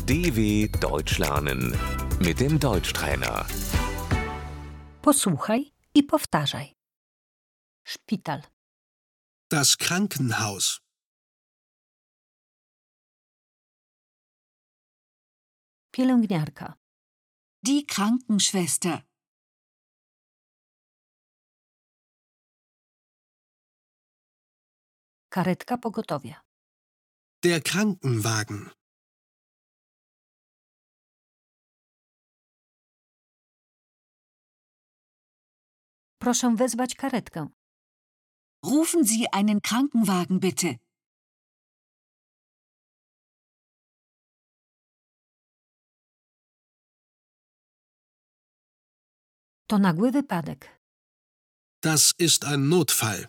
DW Deutsch lernen mit dem Deutschtrainer. Posłuchaj i powtarzaj. Szpital, Das Krankenhaus. pielęgniarka, Die Krankenschwester. karetka pogotowia, Der Krankenwagen. proszę wezwać karetkę, Rufen Sie einen Krankenwagen bitte. to nagły wypadek, Das ist ein Notfall.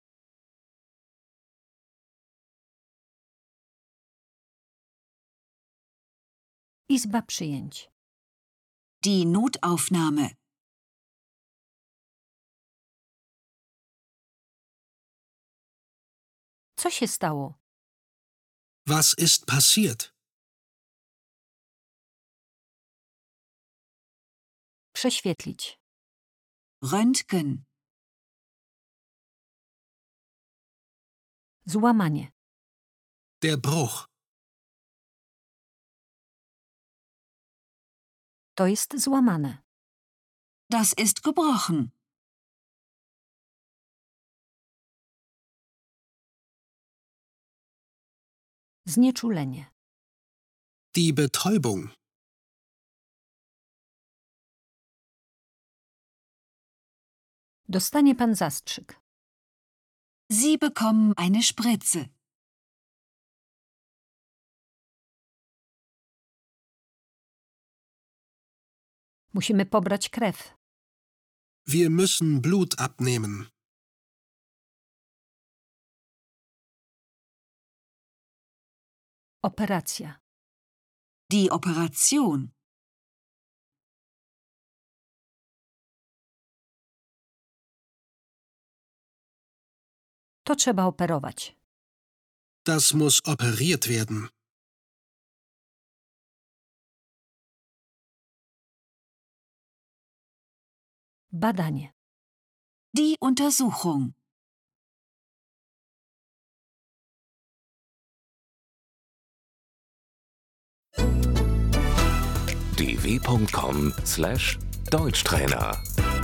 izba przyjęć, Die Notaufnahme. co się stało, Was ist passiert? prześwietlić, Röntgen. złamanie, Der Bruch. to jest złamane, Das ist gebrochen. znieczulenie, Die Betäubung. dostanie pan zastrzyk, Sie bekommen eine Spritze. musimy pobrać krew, Wir müssen Blut abnehmen. operacja, Die Operation. to trzeba operować, Das muss operiert werden. badanie, Die Untersuchung. dw.com/Deutschtrainer